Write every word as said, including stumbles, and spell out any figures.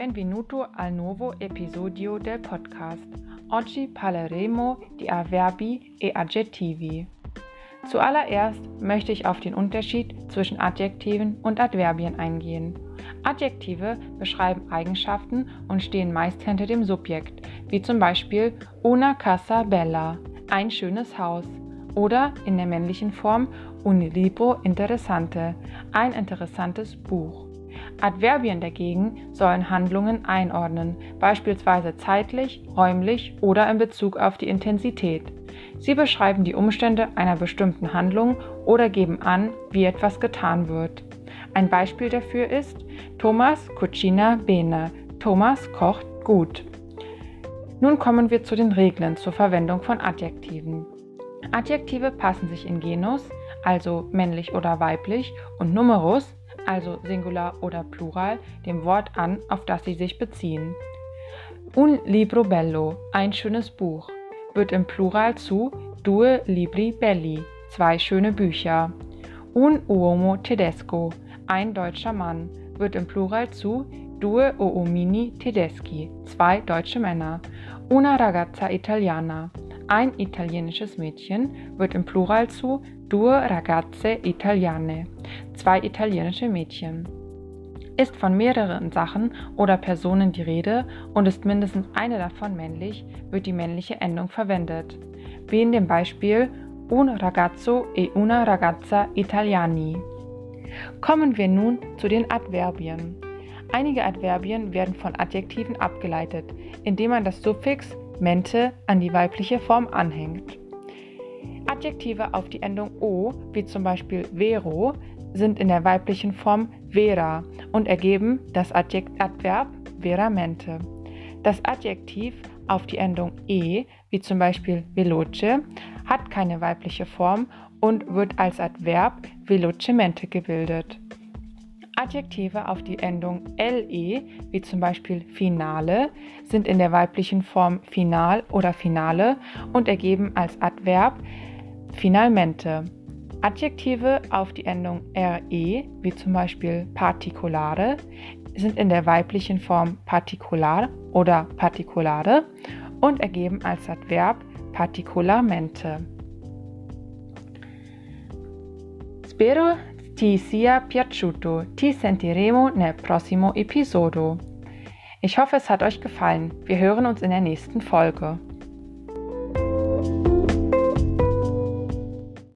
Benvenuto al nuovo episodio del podcast. Oggi parleremo di Avverbi e Adjektivi. Zuallererst möchte ich auf den Unterschied zwischen Adjektiven und Adverbien eingehen. Adjektive beschreiben Eigenschaften und stehen meist hinter dem Subjekt, wie zum Beispiel una casa bella, ein schönes Haus, oder in der männlichen Form un libro interessante, ein interessantes Buch. Adverbien dagegen sollen Handlungen einordnen, beispielsweise zeitlich, räumlich oder in Bezug auf die Intensität. Sie beschreiben die Umstände einer bestimmten Handlung oder geben an, wie etwas getan wird. Ein Beispiel dafür ist Thomas cucina bene, Thomas kocht gut. Nun kommen wir zu den Regeln zur Verwendung von Adjektiven. Adjektive passen sich in Genus, also männlich oder weiblich, und Numerus, also Singular oder Plural, dem Wort an, auf das sie sich beziehen. Un libro bello, ein schönes Buch, wird im Plural zu due libri belli, zwei schöne Bücher. Un uomo tedesco, ein deutscher Mann, wird im Plural zu due uomini tedeschi, zwei deutsche Männer. Una ragazza italiana, ein italienisches Mädchen, wird im Plural zu due ragazze italiane, zwei italienische Mädchen. Ist von mehreren Sachen oder Personen die Rede und ist mindestens eine davon männlich, wird die männliche Endung verwendet, wie in dem Beispiel un ragazzo e una ragazza italiani. Kommen wir nun zu den Adverbien. Einige Adverbien werden von Adjektiven abgeleitet, indem man das Suffix mente an die weibliche Form anhängt. Adjektive auf die Endung o, wie zum Beispiel vero, sind in der weiblichen Form vera und ergeben das Adjekt- Adverb veramente. Das Adjektiv auf die Endung e, wie zum Beispiel veloce, hat keine weibliche Form und wird als Adverb velocemente gebildet. Adjektive auf die Endung le, wie zum Beispiel finale, sind in der weiblichen Form final oder finale und ergeben als Adverb finalmente. Adjektive auf die Endung re, wie zum Beispiel particolare, sind in der weiblichen Form particular oder particolare und ergeben als Adverb particolarmente. Spero ti sia piaciuto. Ti sentiremo nel prossimo episodio. Ich hoffe, es hat euch gefallen. Wir hören uns in der nächsten Folge.